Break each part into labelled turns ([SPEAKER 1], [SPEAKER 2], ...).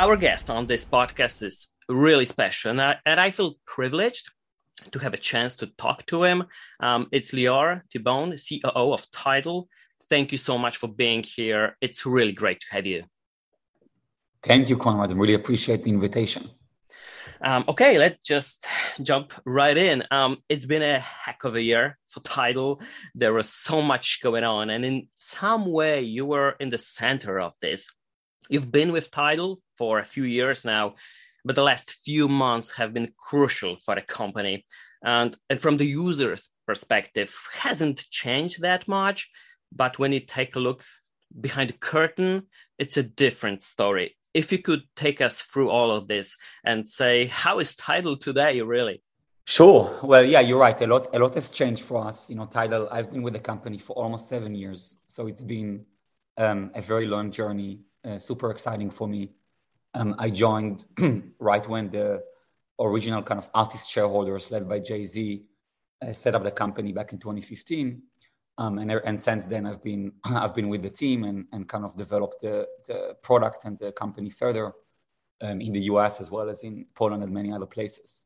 [SPEAKER 1] Our guest on this podcast is really special, and I feel privileged to have a chance to talk to him. It's Lior Thibon, COO of Tidal. Thank you so much for being here. It's really great to have you.
[SPEAKER 2] Thank you, Conrad. I really appreciate the invitation.
[SPEAKER 1] Okay, let's just jump right in. It's been a heck of a year for Tidal. There was so much going on, and in some way, you were in the center of this. You've been with Tidal for a few years now, but the last few months have been crucial for the company. And from the user's perspective, hasn't changed that much. But when you take a look behind the curtain, it's a different story. If you could take us through all of this and say, how is Tidal today, really?
[SPEAKER 2] Sure. Well, yeah, you're right. A lot has changed for us. Tidal, I've been with the company for almost 7 years. So it's been a very long journey, super exciting for me. I joined right when the original kind of artist shareholders led by Jay-Z set up the company back in 2015. And since then, I've been with the team and kind of developed the product and the company further in the US as well as in Poland and many other places.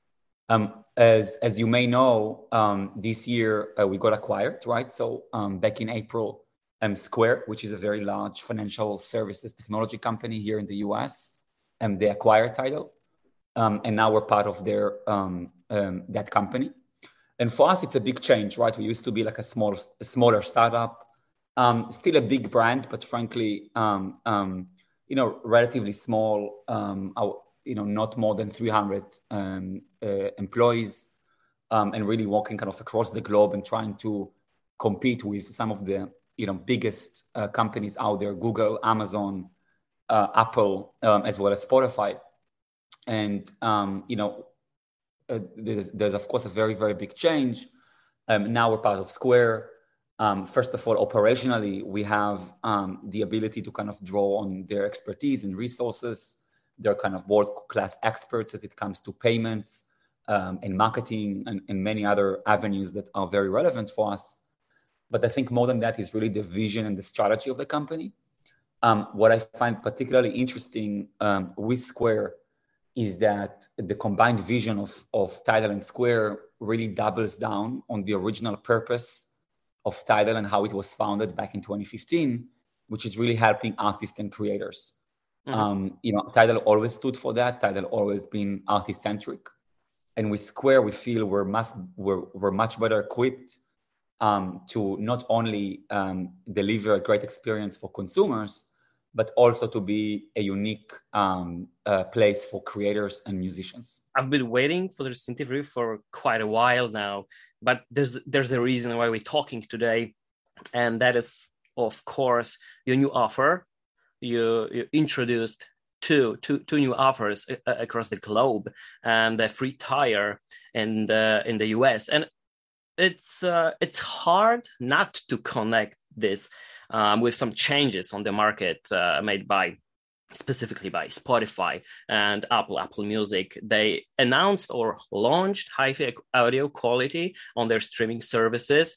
[SPEAKER 2] As you may know, this year we got acquired, right? So back in April, Square, which is a very large financial services technology company here in the US, they acquired Tidal, and now we're part of their that company. And for us, it's a big change, right? We used to be like a smaller startup, still a big brand, but frankly, relatively small. Not more than 300 employees, and really walking kind of across the globe and trying to compete with some of the biggest companies out there: Google, Amazon, Apple, as well as Spotify. And there's of course a very, very big change. Now we're part of Square. First of all, operationally, we have the ability to kind of draw on their expertise and resources. They're kind of world-class experts as it comes to payments and marketing and many other avenues that are very relevant for us. But I think more than that is really the vision and the strategy of the company. What I find particularly interesting with Square is that the combined vision of Tidal and Square really doubles down on the original purpose of Tidal and how it was founded back in 2015, which is really helping artists and creators. Mm-hmm. Tidal always stood for that. Tidal always been artist-centric. And with Square, we feel we're much better equipped to not only deliver a great experience for consumers, but also to be a unique place for creators and musicians.
[SPEAKER 1] I've been waiting for this interview for quite a while now, but there's a reason why we're talking today, and that is, of course, your new offer. You introduced two new offers across the globe, and the free tier in the US, and it's hard not to connect this with some changes on the market made specifically by Spotify and Apple Music. They announced or launched hi-fi audio quality on their streaming services,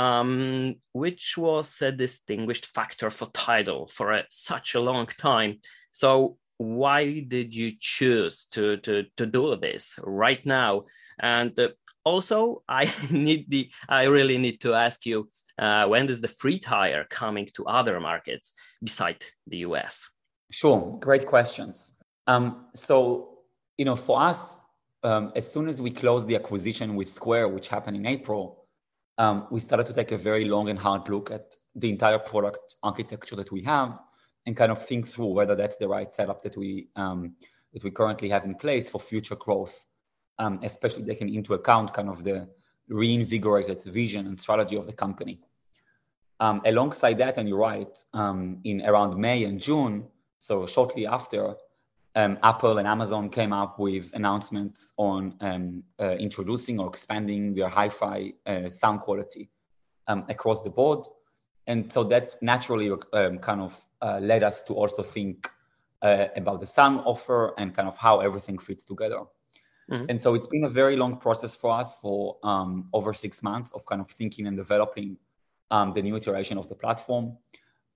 [SPEAKER 1] which was a distinguished factor for Tidal for such a long time. So why did you choose to do this right now? And also, I really need to ask you, when is the free tier coming to other markets beside the US?
[SPEAKER 2] Sure, great questions. So, for us, as soon as we closed the acquisition with Square, which happened in April, we started to take a very long and hard look at the entire product architecture that we have and kind of think through whether that's the right setup that we currently have in place for future growth, especially taking into account kind of the reinvigorated vision and strategy of the company. Alongside that, and you're right, in around May and June, so shortly after, Apple and Amazon came up with announcements on introducing or expanding their hi-fi sound quality across the board. And so that naturally kind of led us to also think about the sound offer and kind of how everything fits together. Mm-hmm. And so it's been a very long process for us for over 6 months of kind of thinking and developing the new iteration of the platform.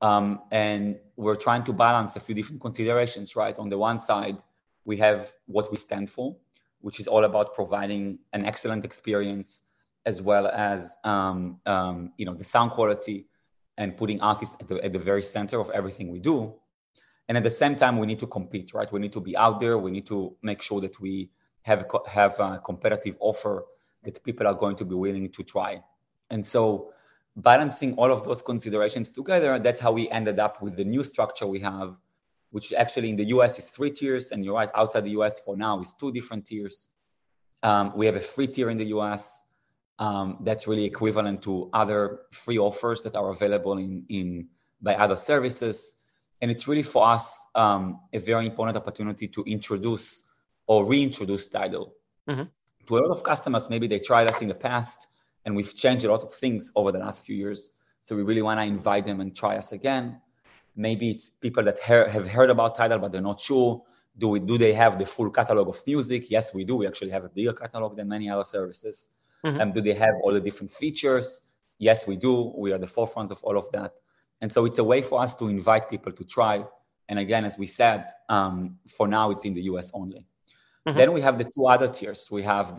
[SPEAKER 2] And we're trying to balance a few different considerations, right? On the one side, we have what we stand for, which is all about providing an excellent experience, as well as the sound quality and putting artists at the very center of everything we do. And at the same time, we need to compete, right? We need to be out there. We need to make sure that we have a competitive offer that people are going to be willing to try. And so balancing all of those considerations together, that's how we ended up with the new structure we have, which actually in the US is 3 tiers. And you're right, outside the US for now is 2 different tiers. We have a free tier in the US that's really equivalent to other free offers that are available by other services. And it's really for us a very important opportunity to introduce or reintroduce Tidal. Mm-hmm. To a lot of customers, maybe they tried us in the past and we've changed a lot of things over the last few years. So we really want to invite them and try us again. Maybe it's people that have heard about Tidal, but they're not sure. Do they have the full catalog of music? Yes, we do. We actually have a bigger catalog than many other services. Mm-hmm. Do they have all the different features? Yes, we do. We are the forefront of all of that. And so it's a way for us to invite people to try. And again, as we said, for now, it's in the US only. Mm-hmm. Then we have the 2 other tiers. We have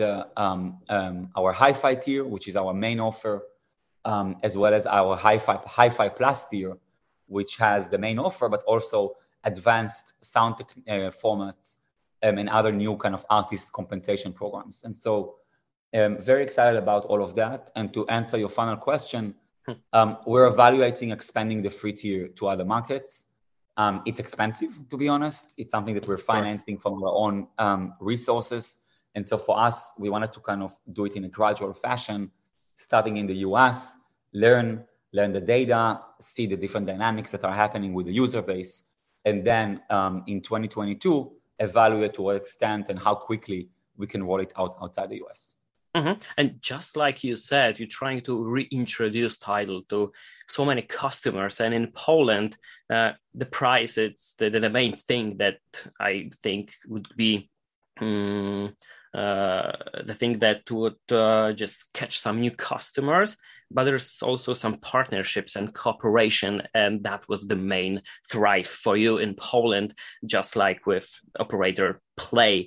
[SPEAKER 2] our Hi-Fi tier, which is our main offer, as well as our Hi-Fi Plus tier, which has the main offer, but also advanced sound formats and other new kind of artist compensation programs. And so very excited about all of that. And to answer your final question, we're evaluating expanding the free tier to other markets. It's expensive, to be honest. It's something that we're financing from our own resources. And so for us, we wanted to kind of do it in a gradual fashion, starting in the US, learn the data, see the different dynamics that are happening with the user base. And then in 2022, evaluate to what extent and how quickly we can roll it out outside the US.
[SPEAKER 1] Mm-hmm. And just like you said, you're trying to reintroduce Tidal to so many customers. And in Poland, the price, it's the main thing that I think would be the thing that would just catch some new customers. But there's also some partnerships and cooperation. And that was the main thrive for you in Poland, just like with operator Play.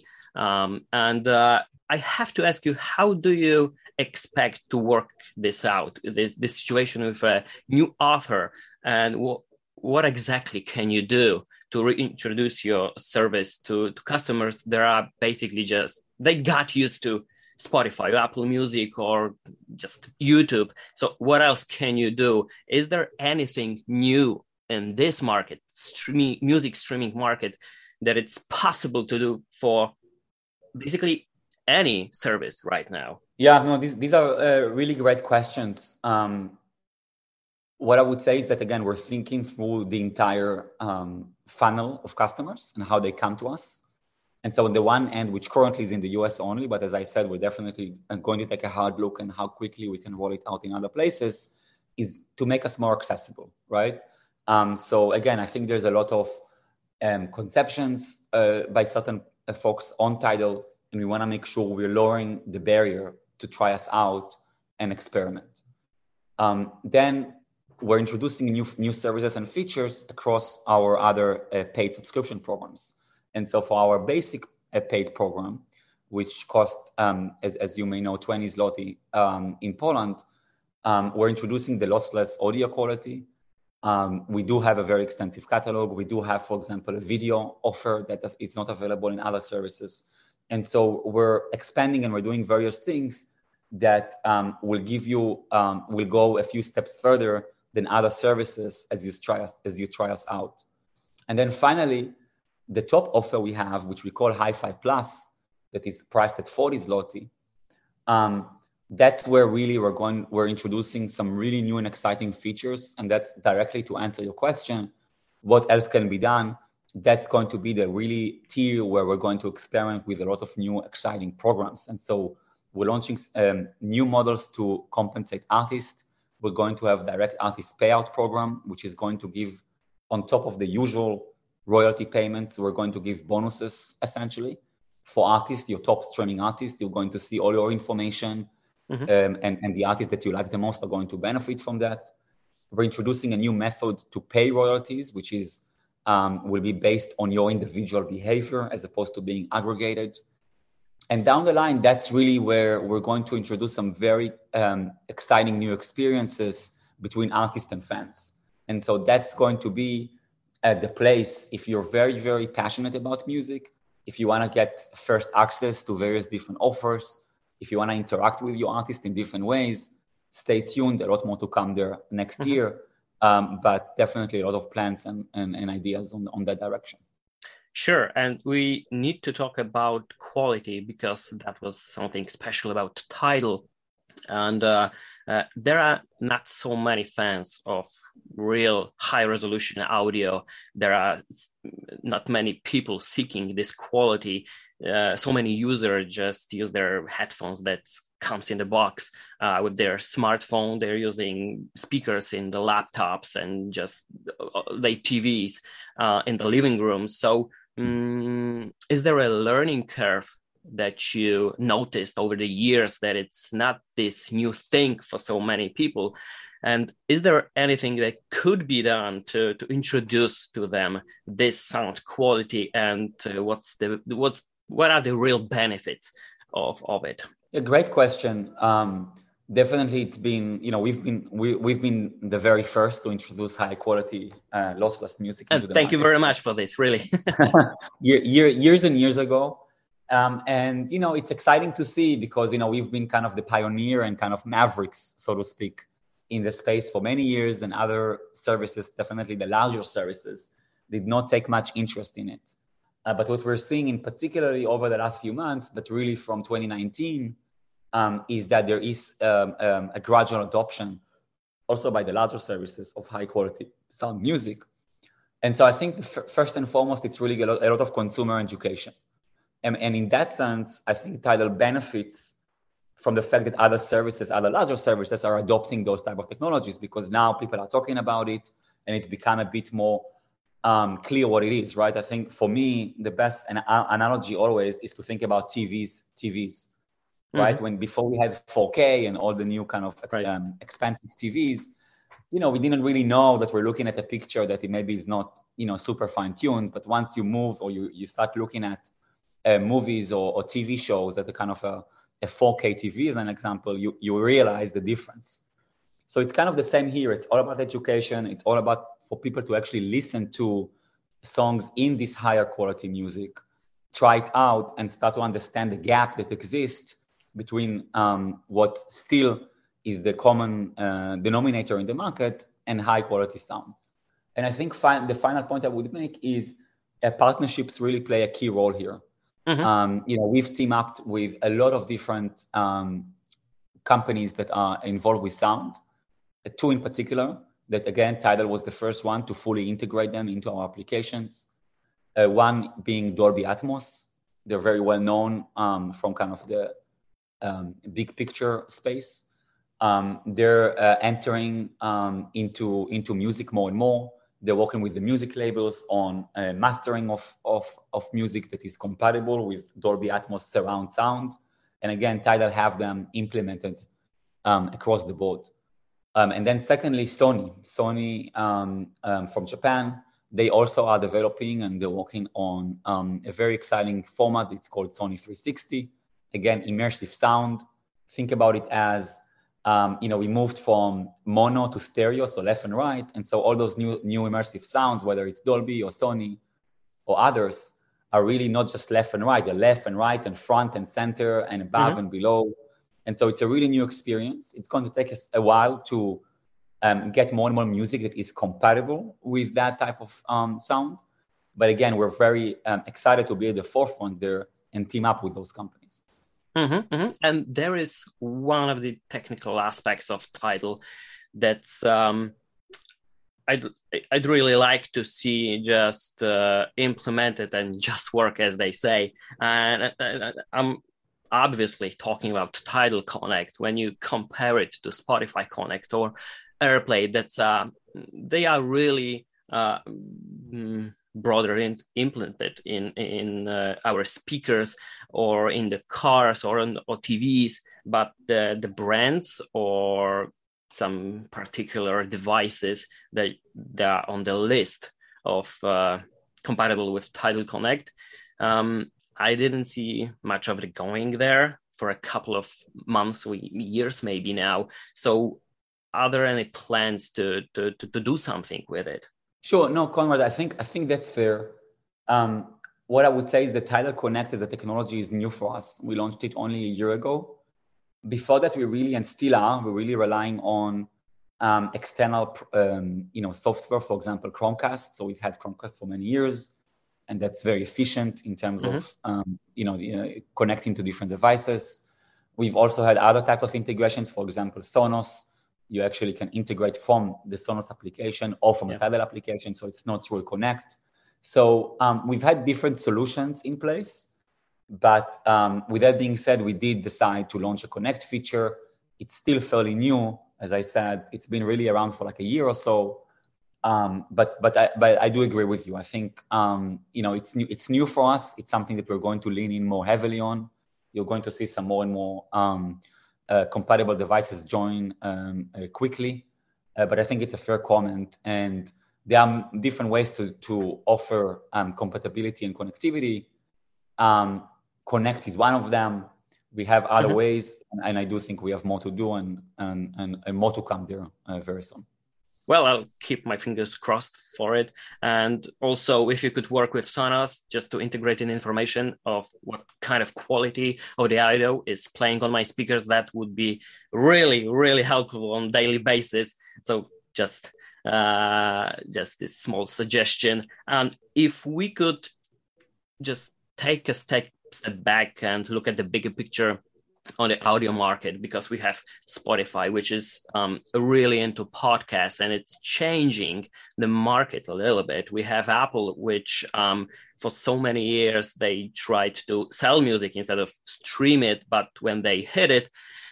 [SPEAKER 1] I have to ask you, how do you expect to work this out, this situation with a new author, and what exactly can you do to reintroduce your service to customers that are basically they got used to Spotify, Apple Music, or just YouTube? So what else can you do? Is there anything new in this market, music streaming market, that it's possible to do for basically any service right now?
[SPEAKER 2] Yeah, no, these are really great questions. What I would say is that, again, we're thinking through the entire funnel of customers and how they come to us. And so on the one end, which currently is in the US only, but as I said, we're definitely going to take a hard look and how quickly we can roll it out in other places, is to make us more accessible, right? So again, I think there's a lot of conceptions by certain folks on Tidal, and we want to make sure we're lowering the barrier to try us out and experiment. Then we're introducing new services and features across our other paid subscription programs. And so for our basic paid program, which costs, as you may know, 20 zloty in Poland, we're introducing the lossless audio quality. We do have a very extensive catalog. We do have, for example, a video offer that is not available in other services. And so we're expanding and we're doing various things that will go a few steps further than other services as you try us out. And then finally, the top offer we have, which we call Hi-Fi Plus, that is priced at 40 zloty. That's where really we're introducing some really new and exciting features. And that's directly to answer your question, what else can be done? That's going to be the really tier where we're going to experiment with a lot of new exciting programs. And so we're launching new models to compensate artists. We're going to have direct artist payout program, which is going to give, on top of the usual royalty payments, we're going to give bonuses essentially for artists, your top streaming artists. You're going to see all your information, and the artists that you like the most are going to benefit from that. We're introducing a new method to pay royalties, which is will be based on your individual behavior as opposed to being aggregated. And down the line, that's really where we're going to introduce some very exciting new experiences between artists and fans. And so that's going to be at the place, if you're very, very passionate about music, if you want to get first access to various different offers, if you want to interact with your artist in different ways, stay tuned. A lot more to come there next year, but definitely a lot of plans and ideas on that direction.
[SPEAKER 1] Sure, and we need to talk about quality because that was something special about Tidal. And there are not so many fans of real high-resolution audio. There are not many people seeking this quality. So many users just use their headphones that comes in the box with their smartphone. They're using speakers in the laptops and just their TVs in the living room. So is there a learning curve that you noticed over the years that it's not this new thing for so many people? And is there anything that could be done to introduce to them this sound quality, and what are the real benefits of it?
[SPEAKER 2] A great question. Definitely, it's been, we've been the very first to introduce high quality lossless music.
[SPEAKER 1] And thank you very much for this, really.
[SPEAKER 2] Years and years ago. And, it's exciting to see because, we've been kind of the pioneer and kind of mavericks, so to speak, in the space for many years, and other services, definitely the larger services, did not take much interest in it. But what we're seeing in particularly over the last few months, but really from 2019, is that there is a gradual adoption also by the larger services of high quality sound music. And so I think first and foremost, it's really a lot of consumer education. And in that sense, I think Tidal benefits from the fact that other larger services are adopting those type of technologies, because now people are talking about it and it's become a bit more clear what it is, right? I think for me, the best analogy always is to think about TVs, right? When before we had 4K and all the new kind of expensive TVs, we didn't really know that we're looking at a picture that it maybe is not, super fine tuned. But once you move or you start looking at movies or TV shows at a kind of a 4K TV as an example, you realize the difference. So it's kind of the same here. It's all about education. It's all about for people to actually listen to songs in this higher quality music, try it out, and start to understand the gap that exists between what still is the common denominator in the market and high quality sound. And I think the final point I would make is partnerships really play a key role here. We've teamed up with a lot of different companies that are involved with sound, two in particular, that again, Tidal was the first one to fully integrate them into our applications. One being Dolby Atmos. They're very well known from kind of the big picture space. They're entering into music more and more. They're working with the music labels on mastering of music that is compatible with Dolby Atmos surround sound. And again, Tidal have them implemented across the board. And then secondly, Sony from Japan, they also are developing and they're working on a very exciting format. It's called Sony 360. Again, immersive sound. Think about it as, we moved from mono to stereo, so left and right. And so all those new immersive sounds, whether it's Dolby or Sony or others, are really not just left and right. They're left and right and front and center and above and below. And so it's a really new experience. It's going to take us a while to get more and more music that is compatible with that type of sound. But again, we're very excited to be at the forefront there and team up with those companies.
[SPEAKER 1] And there is one of the technical aspects of Tidal that's I'd really like to see just implemented and just work, as they say. And I'm obviously talking about Tidal Connect. When you compare it to Spotify Connect or AirPlay, that's they are really broader implemented in our speakers or in the cars or TVs, but the brands or some particular devices that are on the list of compatible with Tidal Connect. I didn't see much of it going there for a couple of months or years maybe now. So are there any plans to do something with it?
[SPEAKER 2] Sure. No, Conrad, I think that's fair. What I would say is that Tidal Connect as a technology is new for us. We launched it only a year ago. Before that, we're really relying on external, software, for example, Chromecast. So we've had Chromecast for many years, and that's very efficient in terms of, connecting to different devices. We've also had other type of integrations, for example, Sonos. You actually can integrate from the Sonos application or from a Tidal application, so it's not through a Connect. So we've had different solutions in place, but with that being said, we did decide to launch a Connect feature. It's still fairly new. As I said, it's been really around for like a year or so. But I do agree with you. I think, it's new for us. It's something that we're going to lean in more heavily on. You're going to see some more and more compatible devices join quickly. But I think it's a fair comment. And there are different ways to offer compatibility and connectivity. Connect is one of them. We have other ways, and I do think we have more to do and more to come there very soon.
[SPEAKER 1] Well, I'll keep my fingers crossed for it. And also, if you could work with Sonos just to integrate in information of what kind of quality of the audio is playing on my speakers, that would be really, really helpful on a daily basis. So just this small suggestion. And if we could just take a step back and look at the bigger picture on the audio market, because we have Spotify, which is really into podcasts, and it's changing the market a little bit. We have Apple, which for so many years they tried to sell music instead of stream it, but when they hit it,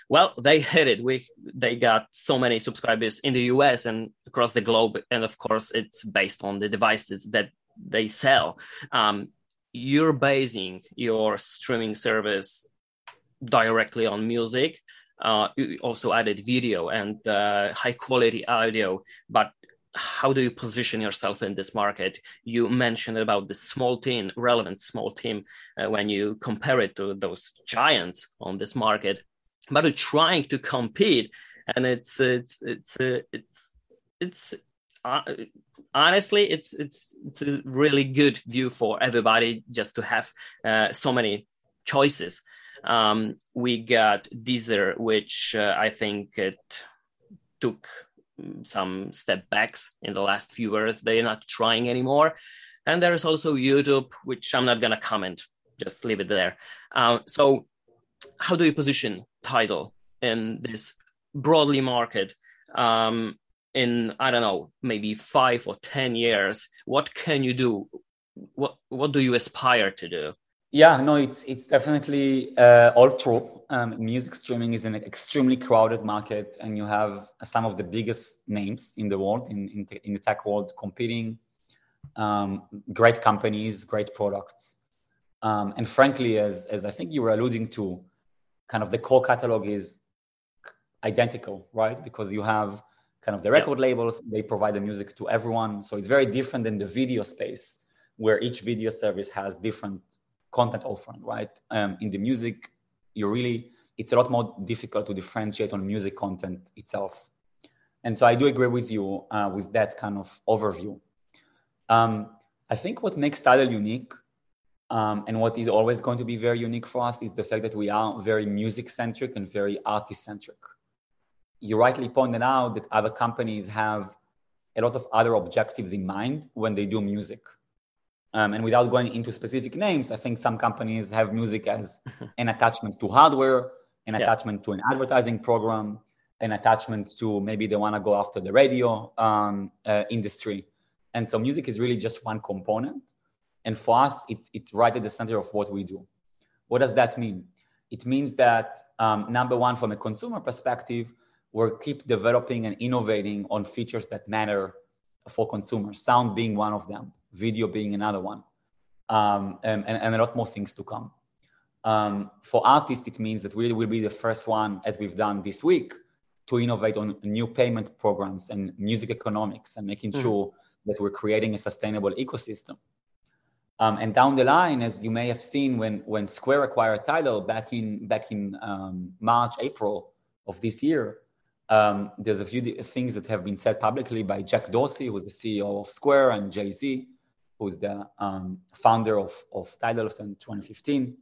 [SPEAKER 1] they got so many subscribers in the US and across the globe, and of course it's based on the devices that they sell. You're basing your streaming service directly on music. You also added video and high quality audio, but how do you position yourself in this market? You mentioned about the relevant small team when you compare it to those giants on this market, but you're trying to compete, and it's honestly, it's a really good view for everybody just to have so many choices. We got Deezer, which I think it took some step backs in the last few years. They're not trying anymore. And there is also YouTube, which I'm not going to comment, just leave it there. So how do you position Tidal in this broadly market in, I don't know, maybe 5 or 10 years? What can you do? What do you aspire to do?
[SPEAKER 2] Yeah, no, it's definitely all true. Music streaming is an extremely crowded market, and you have some of the biggest names in the world, in the tech world, competing. Great companies, great products. And frankly, as I think you were alluding to, kind of the core catalog is identical, right? Because you have kind of the record labels, they provide the music to everyone. So it's very different than the video space, where each video service has different content offering, right? In the music, it's a lot more difficult to differentiate on music content itself. And so I do agree with you with that kind of overview. I think what makes Tidal unique and what is always going to be very unique for us is the fact that we are very music-centric and very artist-centric. You rightly pointed out that other companies have a lot of other objectives in mind when they do music. And without going into specific names, I think some companies have music as an attachment to hardware, an attachment to an advertising program, an attachment to maybe they want to go after the radio industry. And so music is really just one component. And for us, it's right at the center of what we do. What does that mean? It means that, number one, from a consumer perspective, we'll keep developing and innovating on features that matter for consumers, sound being one of them, video being another one, and a lot more things to come. For artists, it means that we will be the first one, as we've done this week, to innovate on new payment programs and music economics and making sure that we're creating a sustainable ecosystem. And down the line, as you may have seen, when Square acquired Tidal back in March, April of this year, there's a few things that have been said publicly by Jack Dorsey, who's the CEO of Square, and Jay-Z, who's the founder of Tidal since 2015.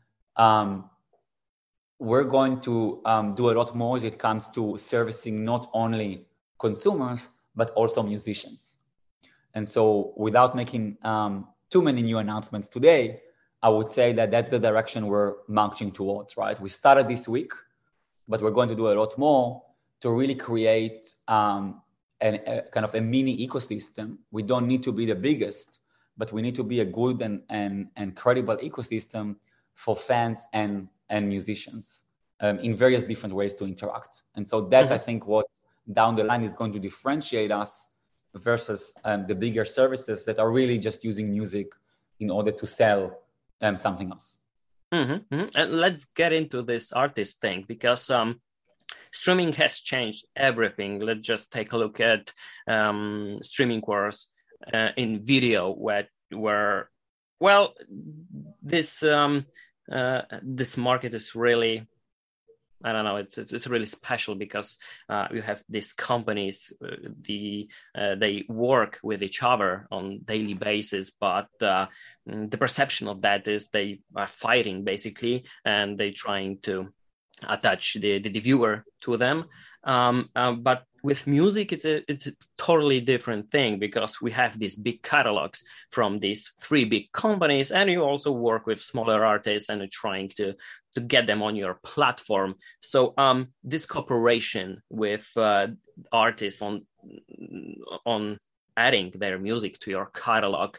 [SPEAKER 2] We're going to do a lot more as it comes to servicing not only consumers, but also musicians. And so without making too many new announcements today, I would say that that's the direction we're marching towards, right? We started this week, but we're going to do a lot more to really create a kind of a mini ecosystem. We don't need to be the biggest, but we need to be a good and credible ecosystem for fans and musicians in various different ways to interact. And so that's, I think, what down the line is going to differentiate us versus the bigger services that are really just using music in order to sell something else.
[SPEAKER 1] And let's get into this artist thing, because streaming has changed everything. Let's just take a look at streaming wars in video, where well, this market is really, I don't know, it's really special, because you have these companies, they work with each other on daily basis, but the perception of that is they are fighting basically, and they trying to attach the viewer to them. But with music, it's a totally different thing, because we have these big catalogs from these three big companies, and you also work with smaller artists and are trying to get them on your platform. So this cooperation with artists on adding their music to your catalog,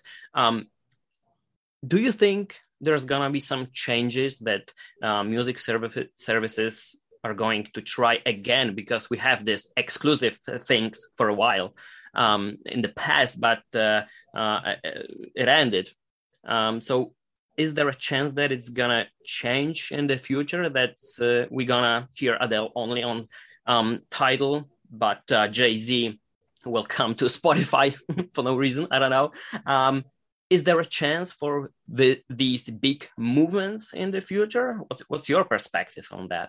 [SPEAKER 1] do you think there's gonna be some changes that music services are going to try again, because we have this exclusive things for a while in the past, but it ended. So is there a chance that it's gonna change in the future, that we're gonna hear Adele only on Tidal, but Jay-Z will come to Spotify for no reason? I don't know. Is there a chance for these big movements in the future? What's your perspective on that?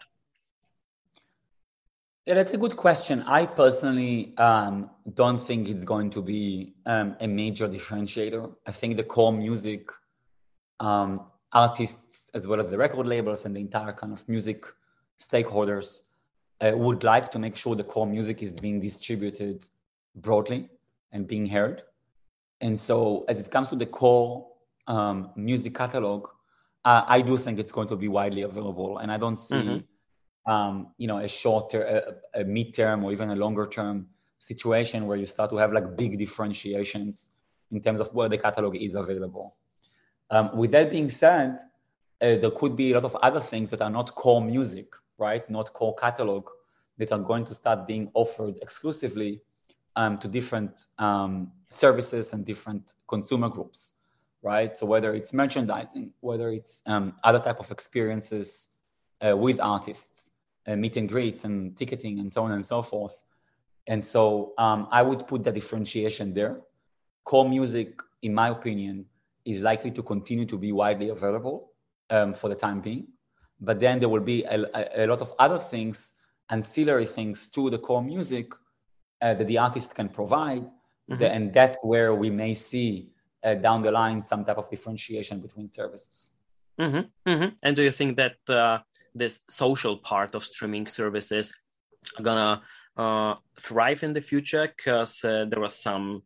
[SPEAKER 2] Yeah, that's a good question. I personally don't think it's going to be a major differentiator. I think the core music artists, as well as the record labels and the entire kind of music stakeholders, would like to make sure the core music is being distributed broadly and being heard. And so as it comes to the core music catalog, I do think it's going to be widely available. And I don't see a shorter, a mid-term, or even a longer-term situation where you start to have like big differentiations in terms of where the catalog is available. With that being said, there could be a lot of other things that are not core music, right? Not core catalog, that are going to start being offered exclusively to different services and different consumer groups, right? So whether it's merchandising, whether it's other type of experiences with artists, meet and greets and ticketing and so on and so forth. And so I would put the differentiation there. Core music, in my opinion, is likely to continue to be widely available for the time being. But then there will be a lot of other things, ancillary things to the core music that the artist can provide. And that's where we may see down the line some type of differentiation between services.
[SPEAKER 1] And do you think that this social part of streaming services are gonna thrive in the future? Because there was some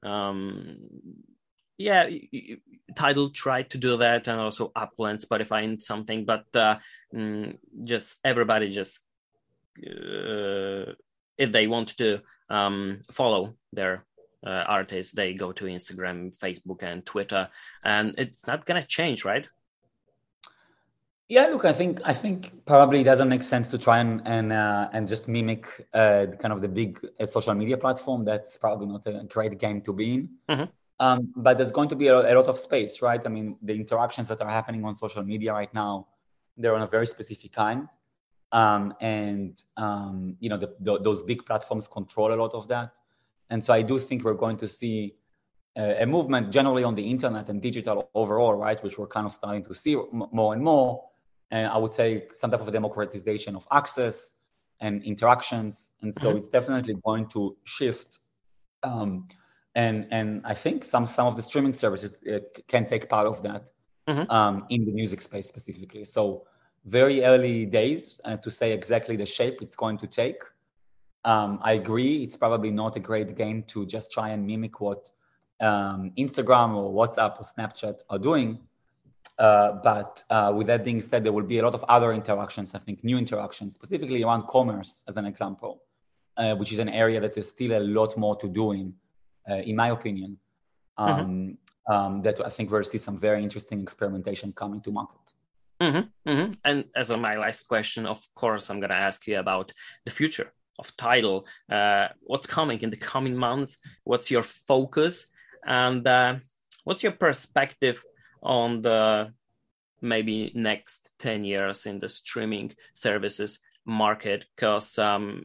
[SPEAKER 1] Tidal tried to do that, and also Apple and Spotify and something, but just everybody just if they want to follow their artists, they go to Instagram, Facebook, and Twitter, and it's not gonna change, right?
[SPEAKER 2] Yeah, look, I think probably it doesn't make sense to try and just mimic kind of the big social media platform. That's probably not a great game to be in. But there's going to be a lot of space, right? I mean, the interactions that are happening on social media right now, they're on a very specific kind. Those big platforms control a lot of that. And so I do think we're going to see a movement generally on the internet and digital overall, right, which we're kind of starting to see more and more. And I would say some type of democratization of access and interactions. And so it's definitely going to shift. And I think some of the streaming services can take part of that in the music space specifically. So very early days to say exactly the shape it's going to take. I agree. It's probably not a great game to just try and mimic what Instagram or WhatsApp or Snapchat are doing. But with that being said, there will be a lot of other interactions, I think, new interactions, specifically around commerce, as an example, which is an area that there's still a lot more to do in my opinion, that I think we'll see some very interesting experimentation coming to market.
[SPEAKER 1] And as my last question, of course, I'm going to ask you about the future of Tidal. What's coming in the coming months? What's your focus? And what's your perspective on the maybe next 10 years in the streaming services market? Because,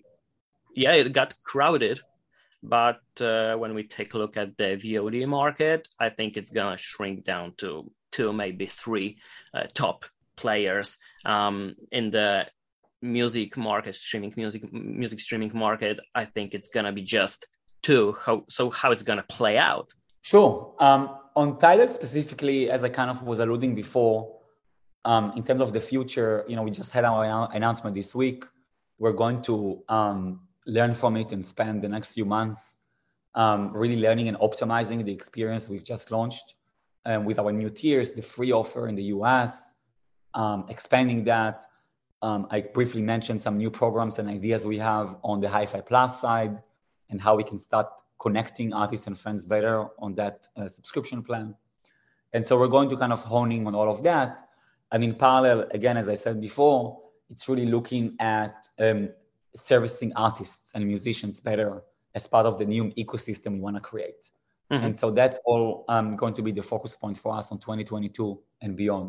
[SPEAKER 1] it got crowded. But when we take a look at the VOD market, I think it's going to shrink down to 2, maybe 3 top players. In the music market, music streaming market, I think it's going to be just 2. How it's going to play out?
[SPEAKER 2] Sure. On Tidal specifically, as I kind of was alluding before, in terms of the future, we just had our announcement this week. We're going to learn from it and spend the next few months really learning and optimizing the experience we've just launched with our new tiers, the free offer in the US, expanding that. I briefly mentioned some new programs and ideas we have on the Hi-Fi Plus side and how we can start connecting artists and friends better on that subscription plan. And so we're going to kind of honing on all of that. And in parallel, again, as I said before, it's really looking at servicing artists and musicians better as part of the new ecosystem we want to create. And so that's all going to be the focus point for us on 2022 and beyond.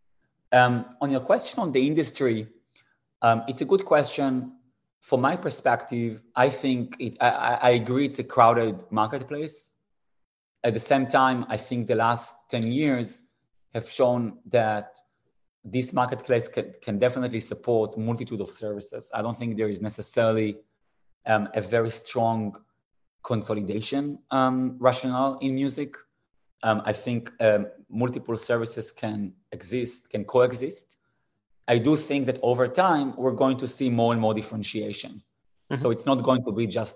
[SPEAKER 2] On your question on the industry, it's a good question. From my perspective, I think I agree it's a crowded marketplace. At the same time, I think the last 10 years have shown that this marketplace can definitely support a multitude of services. I don't think there is necessarily a very strong consolidation rationale in music. I think multiple services can coexist. I do think that over time, we're going to see more and more differentiation. So it's not going to be just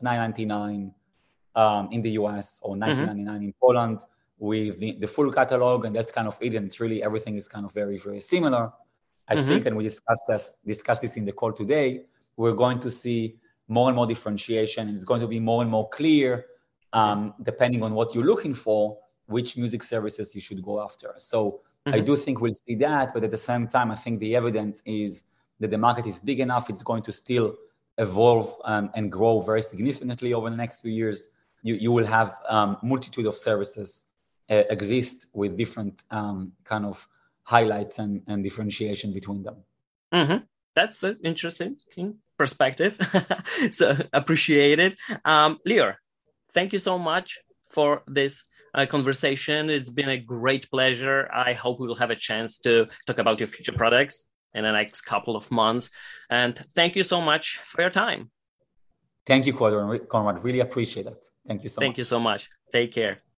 [SPEAKER 2] $9.99 in the US or $19.99 in Poland with the full catalog, and that's kind of it. And it's really everything is kind of very, very similar. I think, and we discussed this in the call today, we're going to see more and more differentiation, and it's going to be more and more clear, depending on what you're looking for, which music services you should go after. So I do think we'll see that, but at the same time, I think the evidence is that the market is big enough. It's going to still evolve and grow very significantly over the next few years. You will have multitude of services exist with different kind of highlights and differentiation between them.
[SPEAKER 1] That's an interesting perspective. So appreciate it. Lior, thank you so much for this conversation. It's been a great pleasure. I hope we will have a chance to talk about your future products in the next couple of months. And thank you so much for your time.
[SPEAKER 2] Thank you, Conrad. Really appreciate it. Thank you so much.
[SPEAKER 1] Thank you so much. Take care.